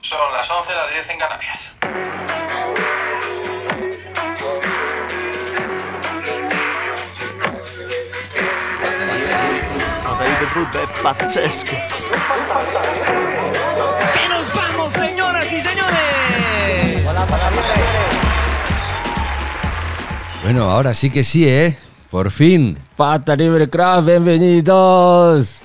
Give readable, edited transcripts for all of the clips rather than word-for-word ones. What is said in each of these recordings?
Son las 11, las 10 en Canarias. David Rub è pazzesco. ¡Y nos vamos, señoras y señores! Bueno, ahora sí que sí, ¿eh? Por fin. Pata Libre Craft, bienvenidos.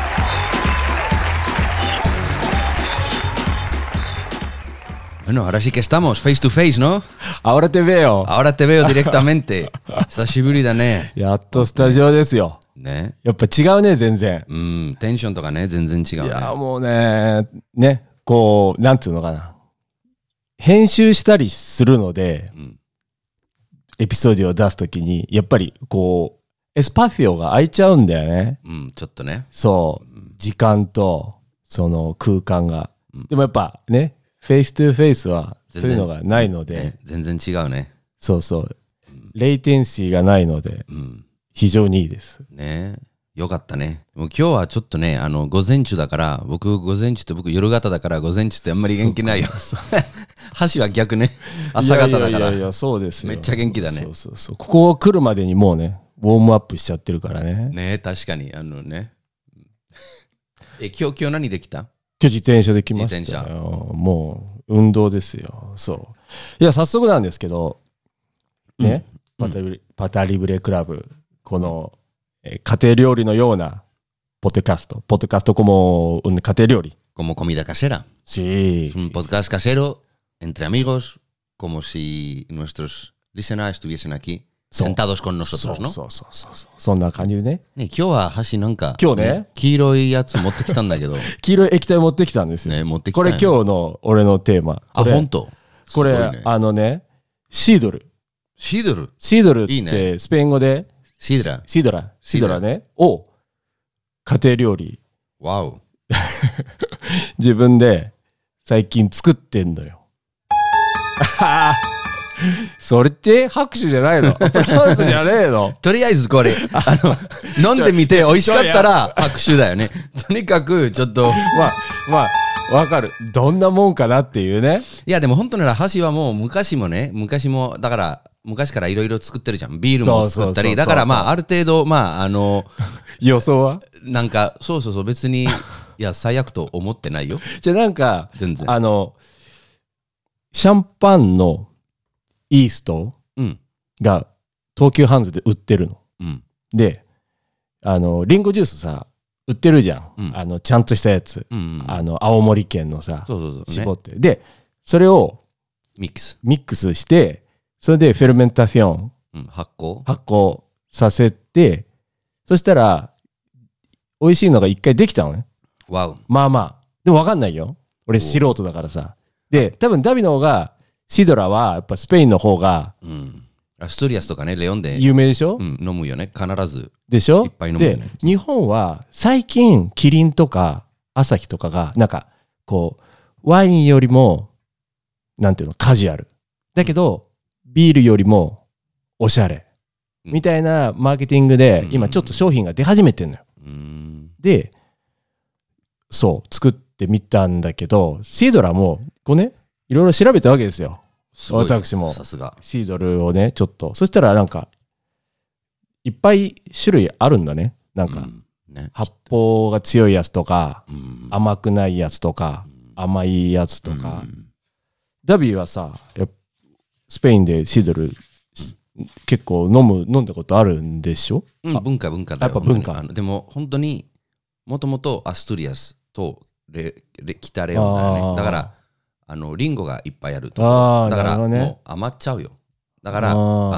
Bueno, ahora sí que estamos, face to face, ¿no? Ahora te veo. Ahora te veo directamente. Sashiburi da ne. やっとスタジオですよ。 ね。 やっぱ違うね、全然。 テンションとかね、全然違うね。 いや、もうね、こう、なんていうのかな。編集したりするので、エピソードを出すときに、やっぱりこう、エスパシオが空いちゃうんだよね。 ちょっとね。 そう、時間と、その空間が。でもやっぱね、フェイストゥフェイスはそういうのがないので、 全然違うね。 そうそう、レイテンシーがないので、非常にいいです。 ね、よかったね。もう今日はちょっとね、午前中だから、僕午前中って僕夜型だから午前中ってあんまり元気ないよ。箸は逆ね。朝方だから。 いやそうですよ。 めっちゃ元気だね。 そう。ここ来るまでにもうね、ウォームアップしちゃってるからね。 ね、確かにね。今日何できた？ 今日自転車で来ましたよ。もう運動ですよ。そう。いや早速なんですけど、ね、パタリブレクラブ、この家庭料理のようなポッドキャストcomo un家庭料理。 como comida casera. Sí. Es un podcast casero entre amigos, como si nuestros listeners estuviesen aquí sentados con nosotros, ¿no? そう。そんな感じでね。 ね、今日は箸なんか、 今日ね、 黄色いやつ持ってきたんだけど。 黄色い液体持ってきたんですよ。 ね、持ってきた。 これ今日の俺のテーマ。 あ、本当？ これ、シードル。シードルってスペイン語でシードラねを家庭料理。 わお。 自分で最近作ってんのよ。それって拍手じゃないの？アプラウスじゃねえの？ とりあえずこれ飲んでみて美味しかったら拍手だよね。とにかくちょっとまあわかる。どんなもんかなっていうね。 いやでも本当なら箸はもう昔もだから昔からいろいろ作ってるじゃん。ビールも作ったり。だからまあある程度予想はなんかそう別にいや最悪と思ってないよ。 じゃあなんか全然シャンパンのイーストが東急ハンズで売ってるの。でリンゴジュースさ売ってるじゃん。ちゃんとしたやつ。青森県のさ絞って。でそれをミックスして、それでフェルメンタション、 発酵させて、そしたら美味しいのが一回できたのね。 わお。 まあでも分かんないよ。俺素人だからさ。で多分ダビの方がシドラはやっぱスペインの方が、 アストリアスとかね、レオンで有名でしょ。 飲むよね、必ず。 でしょ。 いっぱい飲むよね。 で日本は最近キリンとかアサヒとかがなんかこうワインよりもなんていうのカジュアルだけど、ビールよりもおしゃれみたいなマーケティングで今ちょっと商品が出始めてんのよ。でそう作ってみたんだけど、シードラもこうねいろいろ調べたわけですよ。私もさすがシードルをねちょっと、そしたらなんかいっぱい種類あるんだね。なんか、発泡が強いやつとか、甘くないやつとか、甘いやつとか。ダビーはさスペインでシードル結構飲んだことあるんでしょ？ 文化だよ。 やっぱ文化。 でも本当にもともとアストリアスと北レオンだよね。だからリンゴがいっぱいあると。だからもう余っちゃうよ。だから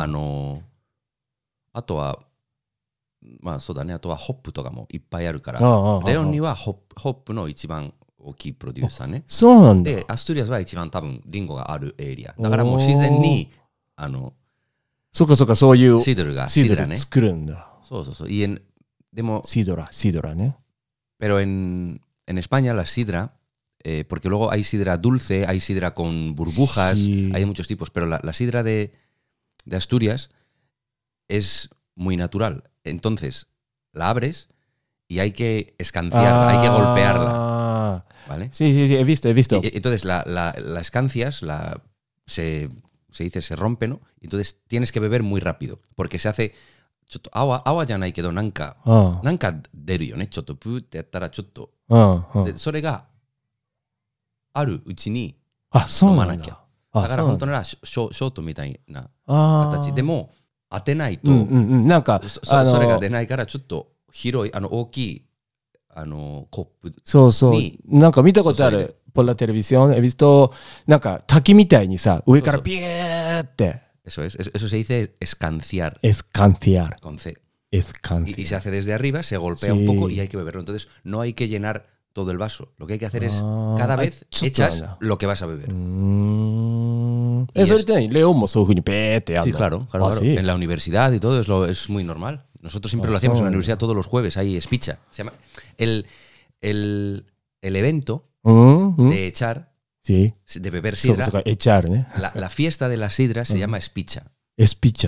あとはまあそうだね、あとはホップとかもいっぱいあるから、レオンにはホップの一番大きいプロデューサーね。 そうなんだ。 でアストリアスは一番多分リンゴがあるエリアだからもう自然にそうかそういうシードルがシードル作るんだ。 そうでもシードラね。 Pero en España la sidra, porque luego hay sidra dulce, hay sidra con burbujas, hay muchos tipos, pero la sidra de Asturias es muy natural. Entonces, la abres y hay que escanciarla, hay que golpearla. ¿vale? Sí, sí, sí, he visto, he visto. Entonces las cancias se dice se rompe, ¿no? Entonces tienes que beber muy rápido, porque se hace agua ya no hay queなんか出るよね。ちょっとプーってやったらちょっとでそれがあるうちに飲まなきゃ。だから本当ならショートみたいな形でも当てないと、 なんかそれが出ないからちょっと広い大きいコップにそうそうなんか見たことあるpor la televisión he vistoなんか滝みたいにさ上からビューって eso se dice escanciar escanciar con C escanciar y se hace desde arriba, se golpea un poco y hay que beberlo. Entonces no hay que llenar todo el vaso. Lo que hay que hacer es cada vez echas lo que vas a beber. それって何レオンもそういう風にベーってやるの Sí, claro. ¿Sí? En la universidad y todo es muy normal. Nosotros siempre lo hacíamos en la universidad todos los jueves. Hay espicha. Se llama el evento de echar, sí. de beber sidra. echar, ¿eh? La fiesta de la sidra se llama espicha. Espicha.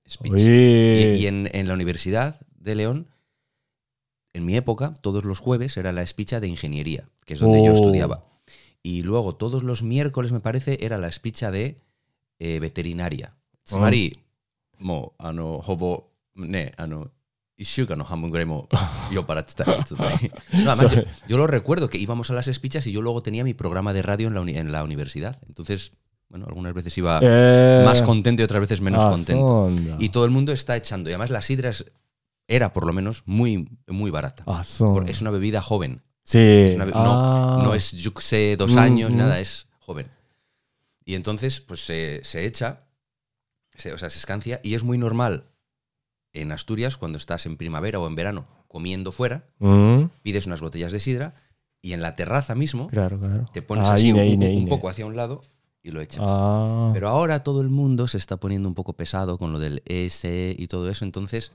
Y en la Universidad de León, en mi época, todos los jueves era la espicha de ingeniería, que es donde yo estudiaba. Y luego todos los miércoles, me parece, era la espicha de veterinaria. つまり、もうほぼね1週間の半分ぐらいも酔っ払ってたよ。つまりno, además, yo lo recuerdo que íbamos a las espichas y yo luego tenía mi programa de radio en la universidad. Entonces, bueno, algunas veces iba más contento y otras veces menos contento. Y todo el mundo está echando. Y además la sidra era, por lo menos, muy, muy barata. Es una bebida joven. Sí. No es, yo sé, 2 años, nada, es joven. Y entonces, pues se echa, o sea, se escancia, y es muy normal en Asturias, cuando estás en primavera o en verano comiendo fuera, pides unas botellas de sidra y en la terraza mismo te pones así un poco hacia un lado y lo echas. Pero ahora todo el mundo se está poniendo un poco pesado con lo del ES y todo eso, entonces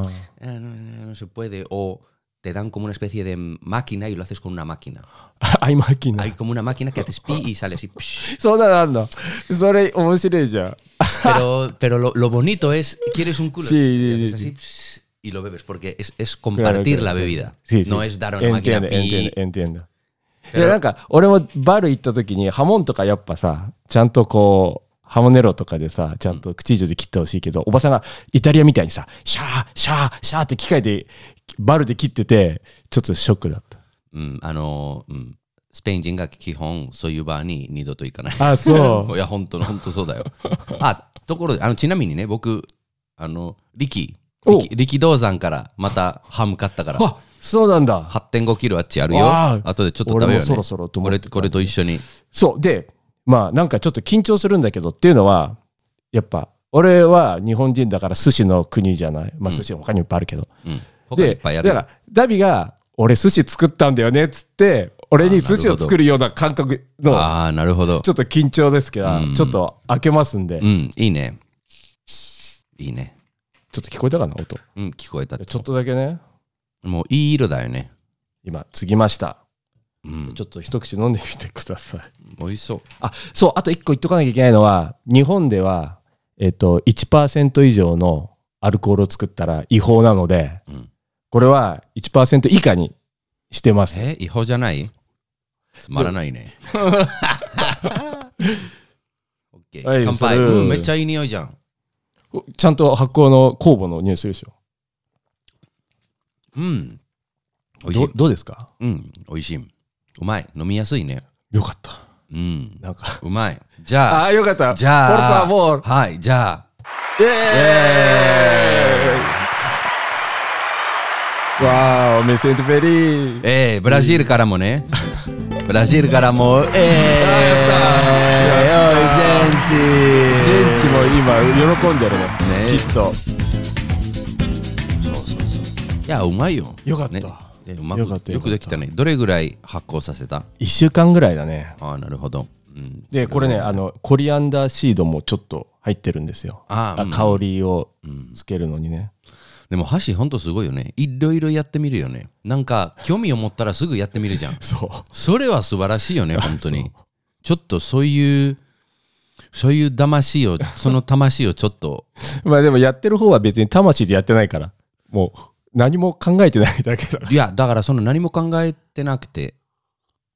no se puede. O te dan como una especie de máquina y lo haces con una máquina. Hay máquina. Hay como una máquina que haces pi y sale así. そうなんだ。それ面白いじゃん。 Pero lo bonito es, ¿quieres un culo? Sí, así, y lo bebes, porque es compartir la bebida. No es dar una máquina pi. Entiendo. いやなんか俺もバル行った時にハモンとかやっぱさちゃんとこうハモネロとかでさちゃんと口上で切ってほしいけど、おばさんがイタリアみたいにさシャーシャーシャーって機械でバルで切っててちょっとショックだった。スペイン人が基本そういうバーに二度と行かない。あ、そう。いや本当そうだよ。ところでちなみにね僕力道山からまたハム買ったから。あ、そうなんだ。8.5 キロあっちあるよ。後でちょっと食べようね。俺もそろそろと思って。これと一緒に。そうでまあなんかちょっと緊張するんだけどっていうのはやっぱ俺は日本人だから寿司の国じゃない。まあ寿司他にもいっぱいあるけど。でだからダビが俺寿司作ったんだよねっつって俺に寿司を作るような感覚のなるほどちょっと緊張ですけど、ちょっと開けますんで、いいねいいね。ちょっと聞こえたかな音。聞こえた。ちょっとだけね。もういい色だよね。今継ぎました。ちょっと一口飲んでみてください。美味しそう。そうあと1個言っとかなきゃいけないのは日本では1% 以上のアルコールを作ったら違法なので。これは 1% 以下にしてます。違法じゃない？つまらないね。オッケー。乾杯。めっちゃいい匂いじゃん。ちゃんと発酵の酵母の匂いするでしょ。おいしい。どうですか？おいしい。うまい。飲みやすいね。よかった。なんかうまい。じゃあ。よかった。じゃあ。はい。じゃあ。イエーイ。わー、me siento feliz。ブラジルからもね。ブラジルからも。ジェンチも今喜んでるね。きっと。いや、うまいよ。よかった。よくできたね。どれぐらい発酵させた？1週間ぐらいだね。なるほど。で、これね、コリアンダーシードもちょっと入ってるんですよ。香りをつけるのにね。でも箸ほんとすごいよね。いろいろやってみるよね。なんか興味を持ったらすぐやってみるじゃん。それは素晴らしいよね本当に。ちょっとそういう魂をその魂をちょっとまあでもやってる方は別に魂でやってないからもう何も考えてないだけだ。いやだからその何も考えてなくて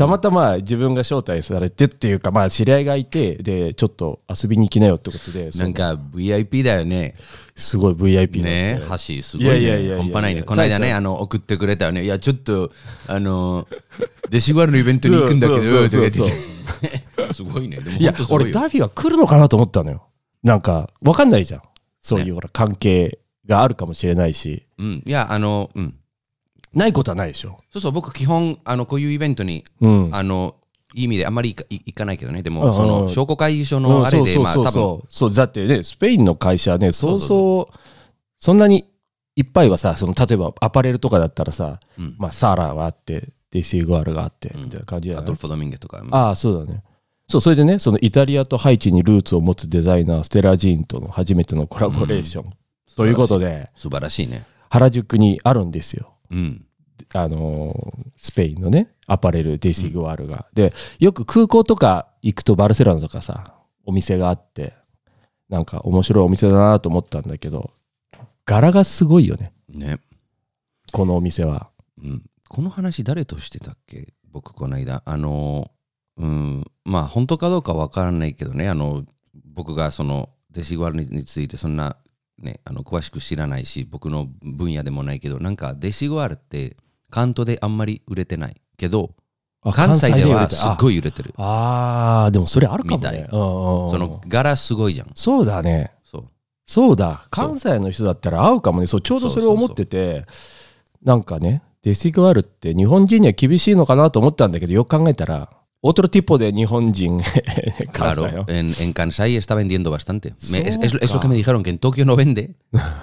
たまたま自分が招待されてっていうか、まあ知り合いがいて、でちょっと遊びに行きなよってことで、 なんか VIP だよね。 すごい VIP だねってえ、橋すごいね。 いやいやいやいや半端ないね。この間ね、送ってくれたよね。いや、ちょっと、デシグアルのイベントに行くんだけど、 そうとか言ってそうすごいね。でもいや本当すごいよ俺ダービーが来るのかなと思ったのよ。なんか分かんないじゃん、そういうほら関係があるかもしれないし、 うん。いや、 ないことはないでしょ。 そうそう、僕基本、こういうイベントに、 うんいい意味であんまり行かないけどね。でうんも、その、商工会議所のあれで、まあ、多分、 そうだってね、スペインの会社はね、そうそうそうそんなにいっぱいはさ、その例えばアパレルとかだったらさ、 うんまあサーラがあってデシグアルがあってうんみたいな感じじゃない、 アドルフォ・ドミンゲとか。 ああそうだね。そうそれでね、そのイタリアとハイチにルーツを持つデザイナーステラジーンとの初めてのコラボレーション、ということで素晴らしいね。 原宿にあるんですよ。 うん。 スペインのねアパレルデシグアルが、でよく空港とか行くとバルセロナとかさお店があって、なんか面白いお店だなと思ったんだけど、柄がすごいよねね。 このお店は。 うん。この話誰としてたっけ、僕この間。まあ本当かどうかわからないけどね、僕がそのデシグアルについてそんなね、詳しく知らないし、僕の分野でもないけど、なんかデシグアルって関東であんまり売れてないけど、関西ではすっごい売れてる。 ああでもそれあるかもね。そその柄すごいじゃん。 そうだね。 そう。 そうだ、関西の人だったら合うかもね。そうちょうどそれを思ってて、なんかねデシグアルって日本人には厳しいのかなと思ったんだけど、よく考えたらotro tipo de 日本人 Claro, en Kansai está vendiendo bastante. Es lo Soca. que me dijeron, que en Tokio no vende,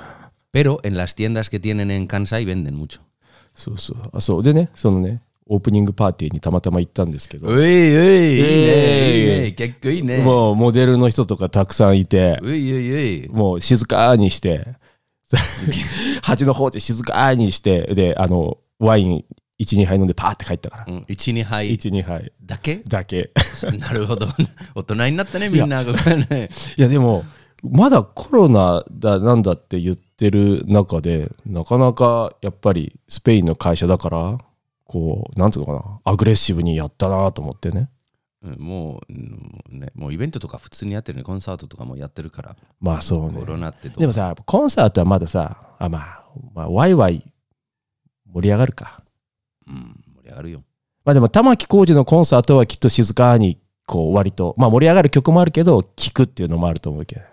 pero en las tiendas que tienen en Kansai venden mucho. そうそうあそうでね、そのねオープニングパーティーにたまたま行ったんですけど、 Uy, uy,いいね、結構いいね。 もうモデルの人とかたくさんいて、 Uy. もう静かにして端の方で静かにして、でワイン 1,2 杯飲んでパーって帰ったから、 1、2杯 1,2 杯だけだけなるほど。大人になったね、みんな。これね。 いやでもまだコロナだなんだって言ってる中で、なかなかやっぱりスペインの会社だからこうなんていうのかな、アグレッシブにやったなと思ってね。 もうイベントとか普通にやってるね。コンサートとかもやってるから。 まあそうねコロナってどうでもさコンサートはまださまあワイワイ盛り上がるか。 盛り上がるよ。 まあでも玉置浩二のコンサートはきっと静かにこう割とまあ盛り上がる曲もあるけど聴くっていうのもあると思うけど、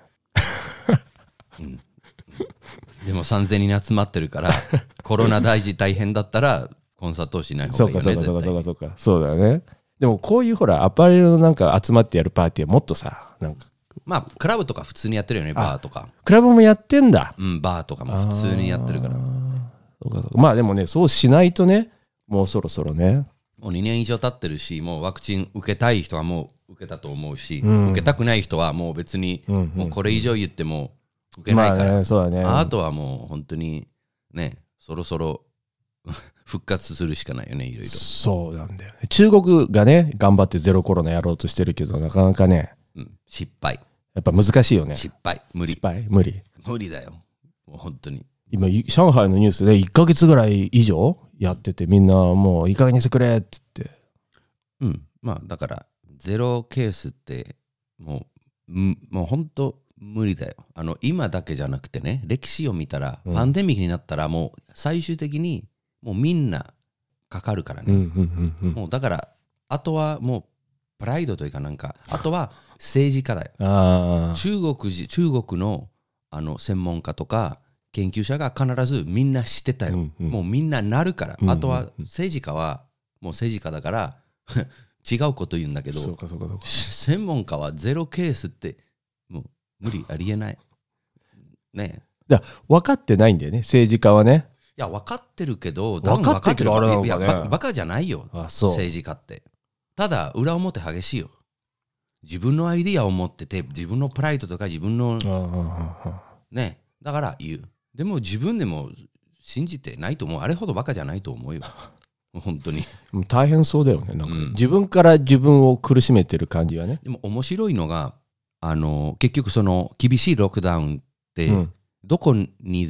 でも3000人集まってるからコロナ大変だったらコンサートをしない方がいいよね。 そうかそうだよね。でもこういうほらアパレルのなんか集まってやるパーティーはもっとさ、なんかまあクラブとか普通にやってるよね。バーとかクラブもやってんだ。 バーとかも普通にやってるから。 そうかまあでもねそうしないとね、もうそろそろね。 もう2年以上経ってるし、もうワクチン受けたい人はもう受けたと思うし、 うん受けたくない人はもう別に、もうこれ以上言っても受けまあないから、 ねそうだね。 あとはもう本当にね、そろそろ復活するしかないよね、いろいろ。 そうなんだよね。中国がね頑張ってゼロコロナやろうとしてるけど、なかなかね失敗。 やっぱ難しいよね。 失敗。無理失。敗無理。 無理だよ。もう本当に。 今上海のニュースで1ヶ月ぐらい以上やってて、みんなもういい加減にしてくれって言って。 まあだからゼロケースってもう本当無理だよ。今だけじゃなくてね、歴史を見たら、パンデミックになったらもう最終的にもうみんなかかるからね。もうだからあとはもうプライドというかなんか、あとは政治家だよ。中国の専門家とか研究者が必ずみんな知ってたよ。もうみんななるから。あとは政治家はもう政治家だから違うこと言うんだけど、専門家はゼロケースってもう無理、ありえないね。 だ分かってないんだよね、政治家はね。 いや分かってるけど、 分かってるけどあれなのかね。 いやバカじゃないよ、政治家って。ただ裏表激しいよ。自分のアイディアを持ってて、自分のプライドとか自分のね、だから言う。でも自分でも信じてないと思う。あれほどバカじゃないと思うよ。本当に大変そうだよね。なんか自分から自分を苦しめてる感じはね。 でも面白いのが結局その厳しいロックダウンってどこにでも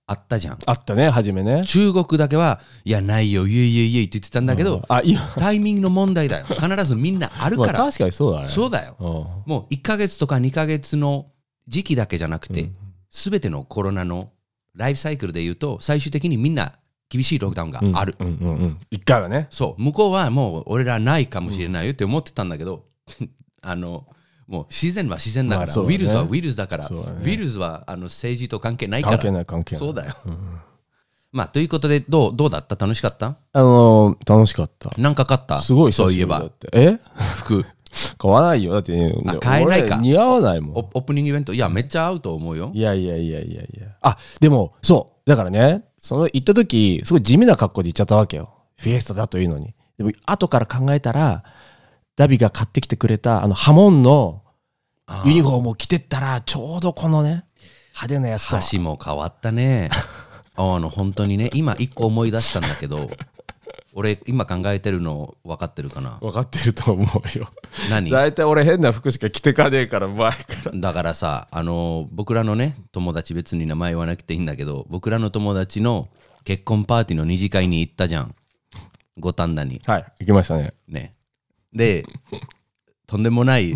あったじゃん。 あったね、初めね。 中国だけは、いや、ないよ、いえいえいえって言ってたんだけど、 あ、今、 タイミングの問題だよ。必ずみんなあるまあ、 から。 確かにそうだね。 そうだよ。 うんもう1ヶ月とか2ヶ月の時期だけじゃなくて、すべてのコロナのライフサイクルで言うと、最終的にみんな厳しいロックダウンがある。 一回はね。 そう、向こうはもう俺らないかもしれないよって思ってたんだけど、もう自然は自然だから、 まあそうだねウイルスはウイルスだから、 そうだねウイルスは政治と関係ないから。 関係ない。 そうだよ。まあ、ということで、どうだった？楽しかった？ 楽しかった。 なんか買った？ すごいそういえば久しぶりだっ。て。 服。 買わないよ。だって、 買えないか俺似合わないもん。 オープニングイベント、いや、めっちゃ合うと思うよ。 いや。あ、でも、そう。だからね、行った時、すごい地味な格好で行っちゃったわけよ。フィエスタだというのに。でも、後から考えたら、ダビが買ってきてくれた、ハモンのユニフォームを着てったら、ちょうどこのね、派手なやつと。 箸も変わったね。本当にね、今一個思い出したんだけど、俺今考えてるの分かってるかな？ 分かってると思うよ。 何？ 大体俺変な服しか着てかねえから、前から。 だからさ、僕らのね、友達、別に名前言わなくていいんだけど、僕らの友達の結婚パーティーの二次会に行ったじゃん。五反田に。 はい、行きましたね。 ね。で、とんでもない、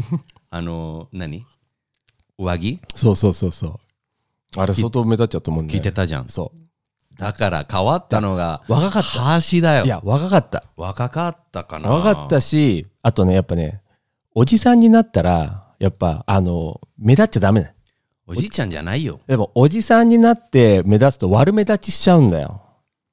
上着そう。あれ相当目立っちゃったもんね。 着てたじゃん。 そう。 だから変わったのが、 若かった。 橋だよ。 いや、若かった。 若かったかな。 若かったし、あとね、やっぱね、おじさんになったら、やっぱ、目立っちゃダメね。 おじいちゃんじゃないよ。 でも、おじさんになって目立つと悪目立ちしちゃうんだよ。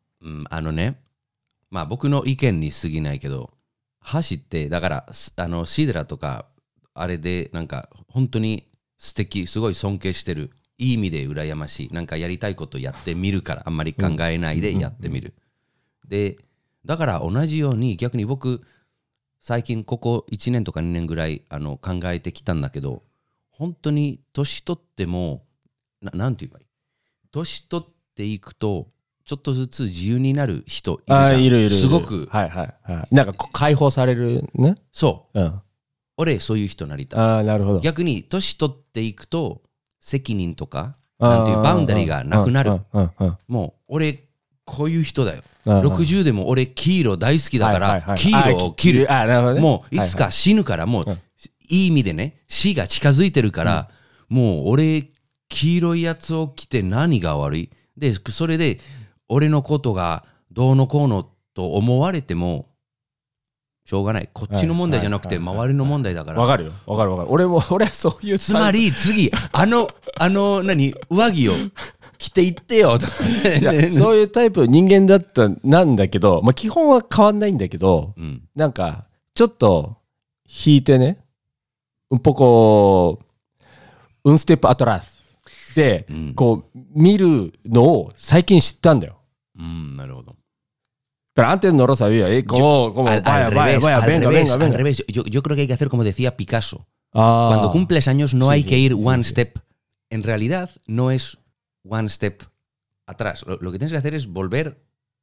まあ僕の意見に過ぎないけど、橋って、だから、シードラとか、あれで、なんか、本当に素敵、すごい尊敬してる。いい意味で羨ましい。なんかやりたいことやってみるから、あんまり考えないでやってみる。で、だから同じように、逆に僕、最近ここ1年とか2年ぐらい考えてきたんだけど、本当に年取っても、なんて言えばいい？年取っていくと、ちょっとずつ自由になる人いるじゃん。 いる。 すごく。 はい。なんか解放されるね。 そう。 うん。 俺、そういう人になりたい。 ああ、なるほど。 逆に、年取っていくと、責任とか、なんていうバウンダリーがなくなる。もう、俺、こういう人だよ。60でも俺、黄色大好きだから、黄色を切る。もう、いつか死ぬから、もう、いい意味でね、死が近づいてるから、もう、俺、黄色いやつを着て何が悪い？で、それで、俺のことがどうのこうのと思われても、しょうがない。こっちの問題じゃなくて、周りの問題だから。 わかるよ。俺はそういう。 つまり、次、上着を着ていってよ。 そういうタイプ人間だったなんだけど、まあ基本は変わんないんだけど、なんか、ちょっと引いてね、un poco un step atrásで、こう、見るのを最近知ったんだよ。 なるほど。 Pero antes no lo sabía, como vaya, venga. Al revés, yo creo que hay que hacer como decía Picasso. Cuando cumples años no hay que ir one step. En realidad no es one step atrás. Lo que tienes que hacer es volver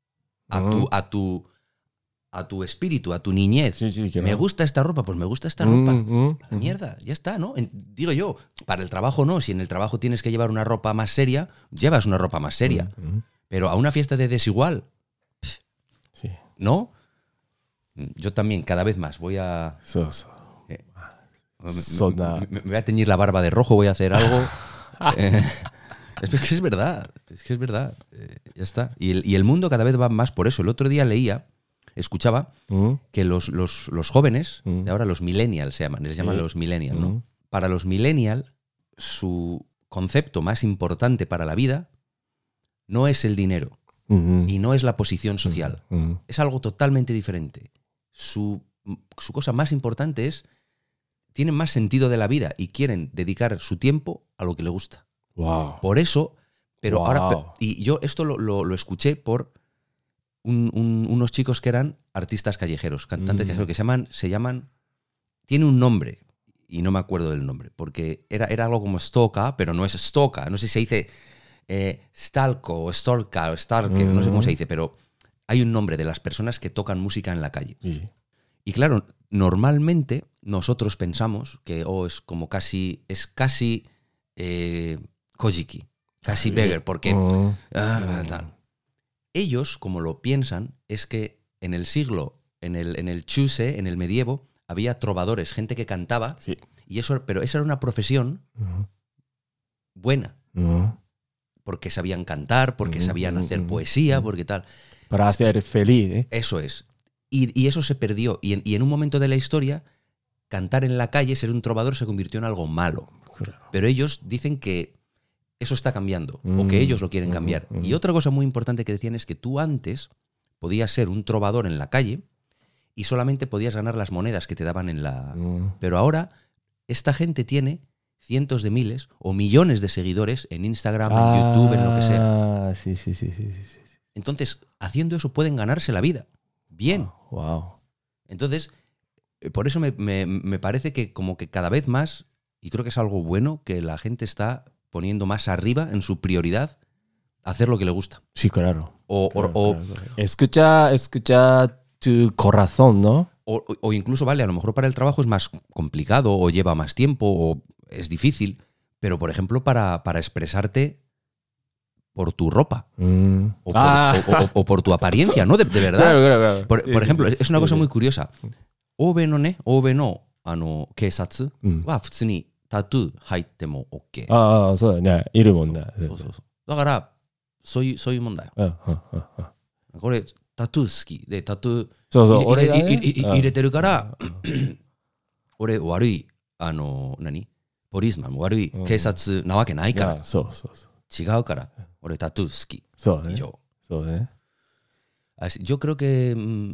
a tu espíritu, a tu niñez. Me gusta esta ropa, pues me gusta esta ropa. Mierda, ya está, ¿no? Digo yo, para el trabajo no. Si en el trabajo tienes que llevar una ropa más seria, llevas una ropa más seria. Pero a una fiesta de desigual, sí. ¿no? Yo también, cada vez más. Voy a... Me voy a teñir la barba de rojo, voy a hacer algo. Es que es verdad. Ya está. Y el mundo cada vez va más por eso. El otro día escuchaba que los jóvenes, de ahora los millennials les llaman los millennials, ¿no? Para los millennials, su concepto más importante para la vida no es el dinero y no es la posición social. Es algo totalmente diferente. Su cosa más importante es, tienen más sentido de la vida y quieren dedicar su tiempo a lo que les gusta. Wow. Por eso, pero ahora, y yo esto lo escuché por unos chicos que eran artistas callejeros, cantantes callejeros, que se llaman, tiene un nombre, y no me acuerdo del nombre, porque era algo como Stoka, pero no es Stoka, no sé si se dice Stalko o Storka o Starker, no sé cómo se dice, pero hay un nombre de las personas que tocan música en la calle. Y claro, normalmente nosotros pensamos que es casi Kojiki. casi beggar, porque... うん tal. Ellos, como lo piensan, es que en el siglo, en el Chuse, en el medievo, había trovadores, gente que cantaba, Sí. y eso, pero esa era una profesión うん buena, うん、 porque sabían cantar, porque sabían hacer poesía, porque tal. para hacer feliz, ¿eh? Eso es. Y eso se perdió. Y en un momento de la historia, cantar en la calle, ser un trovador, se convirtió en algo malo. Pero ellos dicen que eso está cambiando, o que ellos lo quieren cambiar. Y otra cosa muy importante que decían es que tú antes podías ser un trovador en la calle y solamente podías ganar las monedas que te daban en la... うん Pero ahora esta gente tiene cientos de miles o millones de seguidores en Instagram, en YouTube, en lo que sea. Ah, sí, sí, sí, sí, sí, sí. Entonces, haciendo eso pueden ganarse la vida. Bien. Wow. Entonces, por eso me parece que como que cada vez más, y creo que es algo bueno, que la gente está poniendo más arriba en su prioridad hacer lo que le gusta. Sí, claro. O Escucha tu corazón, ¿no? o incluso, vale, a lo mejor para el trabajo es más complicado o lleva más tiempo o es difícil, pero por ejemplo para expresarte por tu ropa うん o por tu apariencia, ¿no? De verdad. Claro, claro, claro. Por ejemplo, es una cosa sí. muy curiosa. 欧米の警察は普通にタトゥー入っても OK。 ああ、そうだね。いるもんね。 そうそうそう。だから、そういうもんだよ。 うんうんうんうんこれ、タトゥー好きで、タトゥーそうそう、 入れ俺がね入れてるから、俺悪い、ポリスマンも悪い警察なわけないから、 あそうそうそう。 違うから、俺タトゥー好き。 そうだね。 以上。 そうだね。 Así, yo creo que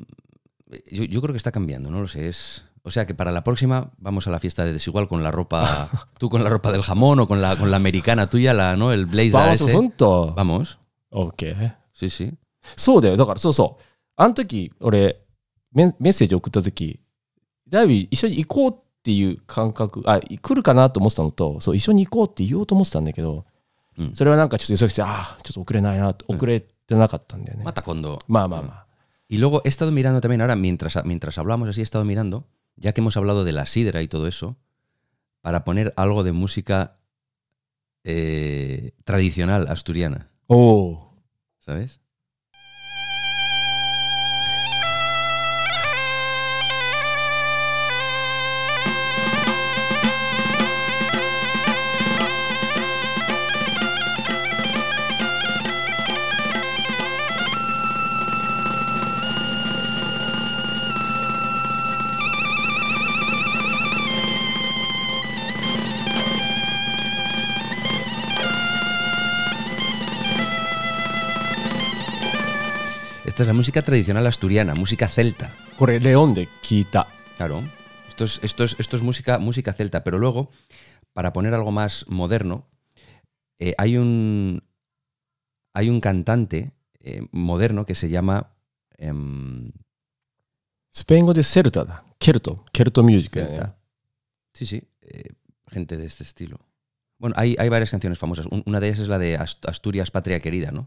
yo creo que está cambiando, no lo sé. O sea que para la próxima vamos a la fiesta de Desigual con la ropa, tú con la ropa del jamón o con la americana tuya, ¿no? El blazer バース ese. 本当。 Vamos. オッケー。 Sí, sí. そうだよ。だから、そうそう。あの時、俺、メッセージ送った時、だいぶ一緒に行こうっていう感覚、来るかなと思ってたのと、そう、一緒に行こうって言おうと思ってたんだけど、それはなんかちょっと急ぎて、ちょっと遅れないなと、遅れてなかったんだよね。 Mata cuando. まあまあまあ。 Y luego he estado mirando también ahora, mientras hablamos así, he estado mirando, ya que hemos hablado de la sidra y todo eso, para poner algo de música tradicional asturiana, おお。 ¿sabes? Esta es la música tradicional asturiana, música celta. これ、レオンで聞いた。 Claro, esto es música celta, pero luego, para poner algo más moderno, hay un cantante moderno que se llama スペイン語でセルタだ。ケルトミュージックだね。 Celta. Sí, sí, gente de este estilo. Bueno, hay varias canciones famosas. Una de ellas es la de Asturias, Patria Querida, ¿no?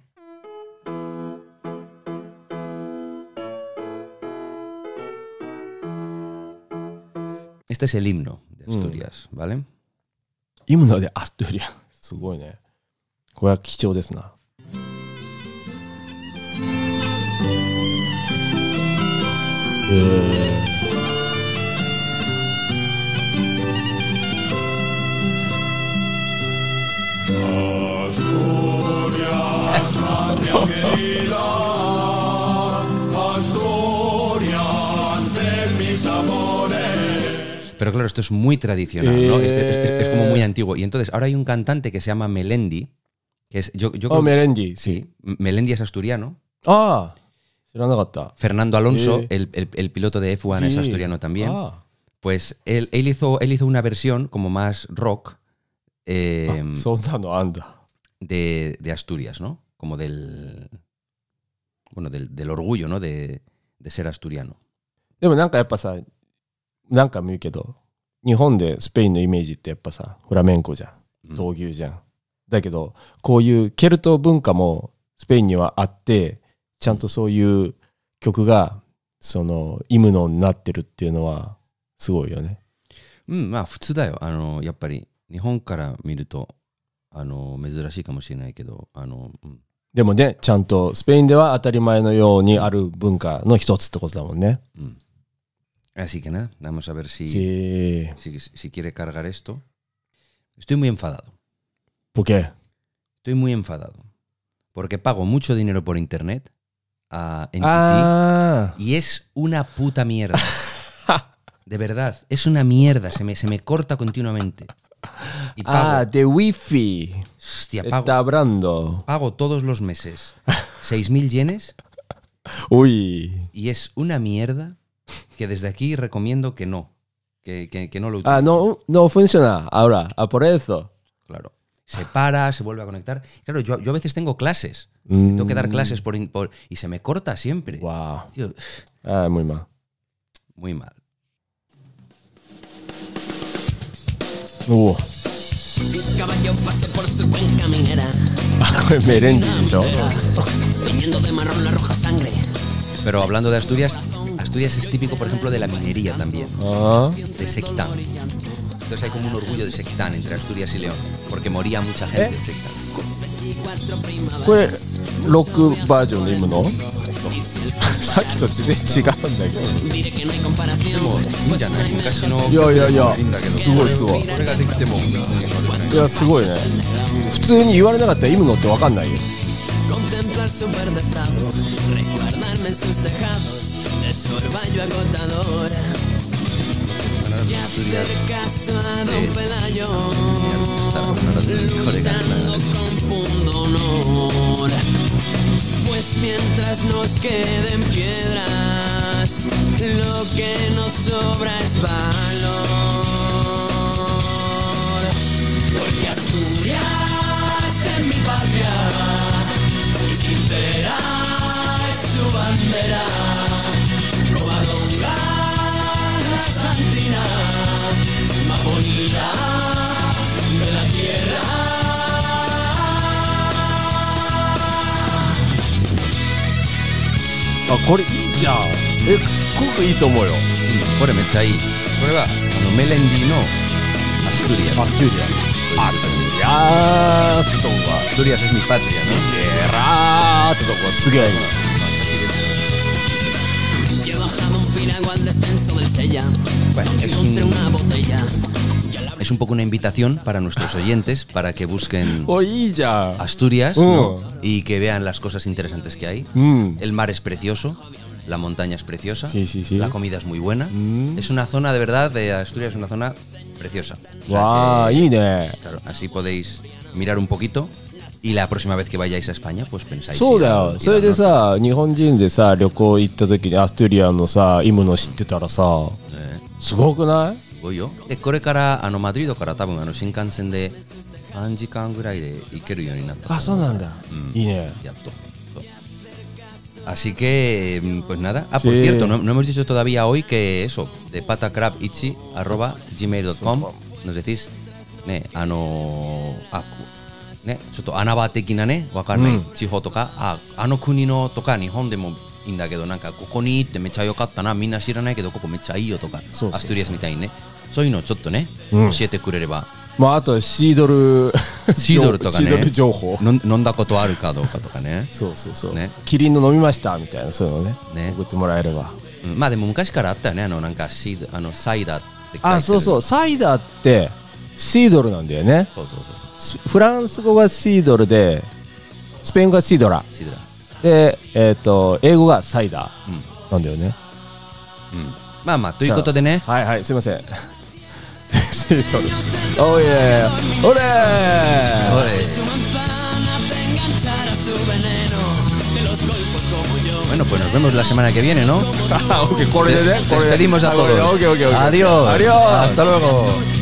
Este es el himno de Asturias, ¿vale? イムノでアストゥリア。すごいね。これは貴重ですな。 Pero claro, esto es muy tradicional, ¿no? Es como muy antiguo. Y entonces ahora hay un cantante que se llama Melendi, que es... Yo あ、 creo- メレンディ。 Sí, Melendi es asturiano. ああ、知らなかった。 Fernando Alonso, el piloto de F1, es Sí. asturiano también. あ Pues él hizo una versión como más rock あ、そんなのあんだ。 de Asturias, ¿no? Como del orgullo, ¿no? De ser asturiano. でもなんかやっぱさ、なんか見るけど、日本でスペインのイメージってやっぱさ、フラメンコじゃん。闘牛じゃん。だけど、こういうケルト文化もスペインにはあって、ちゃんとそういう曲が、その、イムノになってるっていうのは、すごいよね。 まあ普通だよ。やっぱり日本から見ると珍しいかもしれないけど、 でもね、ちゃんとスペインでは当たり前のようにある文化の一つってことだもんね。 Así que nada, vamos a ver si quiere cargar esto. Estoy muy enfadado. ¿Por qué? Estoy muy enfadado. Porque pago mucho dinero por internet en Ah. TT y es una puta mierda. De verdad, es una mierda. Se me corta continuamente. Y pago, de Wi-Fi. hostia, Está hablando. pago todos los meses 6.000 yenes Uy. y es una mierda que desde aquí recomiendo que no. Que no lo utilice. Ah, no funciona ahora. Por eso. Claro. Se para, se vuelve a conectar. Claro, yo a veces tengo clases. Tengo que dar clases y se me corta siempre. Wow. Tío, Muy mal. muy mal. Caballo pase por su cuenca minera, これメレンディーでしょ teñiendo de marrón la roja sangre. Pero hablando de Asturias, Asturias es típico, por ejemplo, de la minería también. あ De Sequitán. Entonces hay como un orgullo de Sequitán entre Asturias y León. Porque moría mucha gente en Sequitán. これロックバージョンで読むのさっきと全然違うんだけど Diré que no hay comparación. いいんじゃない昔のいやいやいやいいんだけどすごいすごいこれができてもいやすごいね普通に言われなかったら読むのって分かんないよ Contemplar su verde prado, reguardarme en sus tejados de su orvallo agotador. Y hacer caso a don Pelayo, luchando con pundonor. Pues mientras nos queden piedras, lo que nos sobra es valor. Porque Asturias es mi patria y sincera es su bandera. Covadonga, Santina, más bonita de la tierra. あこれいいじゃんすっごくいいと思うよこれめっちゃいいこれはメレンディのアストゥリアアスチュリアアスチュリアってとこが Asturias es mi patria, ¿no? ゲラーってとこがすげえ Yo he bajado un piragua al descenso del Sella. Bueno, Encontré una botella. es un poco una invitación para nuestros oyentes para que busquen おいいじゃん Asturias, ¿no? Y que vean las cosas interesantes que hay. うん El mar es precioso, la montaña es preciosa, Sí, sí, sí. la comida es muy buena. Mm. Es una zona, de verdad, de Asturias es una zona preciosa. O sea わあ que, いいね claro, así podéis mirar un poquito y la próxima vez que vayáis a España, pues pensáis. そうだ ir よ al それで norte. さ日本人でさ旅行行った時にアストゥリアのさイムの知ってたらさすごくない Voy yo. でこれからマドリードから多分新幹線で3時間ぐらいで行けるようになったと思う。 あそうなんだいいね Ya todo. Así que, pues nada. Ah, por Sí. cierto, no hemos dicho todavía hoy que eso, de patacrabichi@gmail.com nos decís, ne, ne, ちょっと穴場的なね、わかんない地方とか、国のとか日本でもいいんだけど、なんかここに行ってめっちゃ良かったな、みんな知らないけどここめっちゃいいよとか、 そうそうそうアストゥリアスみたいにね、そういうのをちょっとね、 うん教えてくれれば、 まああとシードルシードルとかねシードル情報飲んだことあるかどうかとかね。 そうそうそう、 ねキリンの飲みましたみたいなそういうのねね送ってもらえればうんまあでも昔からあったよね、なんかサイダーって書いてる。 あそうそうサイダーってシードルなんだよねそうそうそうフランス語がシードルでスペイン語がシードラシードラ。 で英語がサイダうんーなんだよねうんまあまあということでね、 はいはいすいませんシードルおいえおれーおい Su manzana te enganchará su veneno de los golfos como yo. bueno, pues nos vemos la semana que viene, ¿no? あオッケーこれでねこれで Despedimos a todos. Ok, ok, ok. Adiós. Adiós. Hasta luego.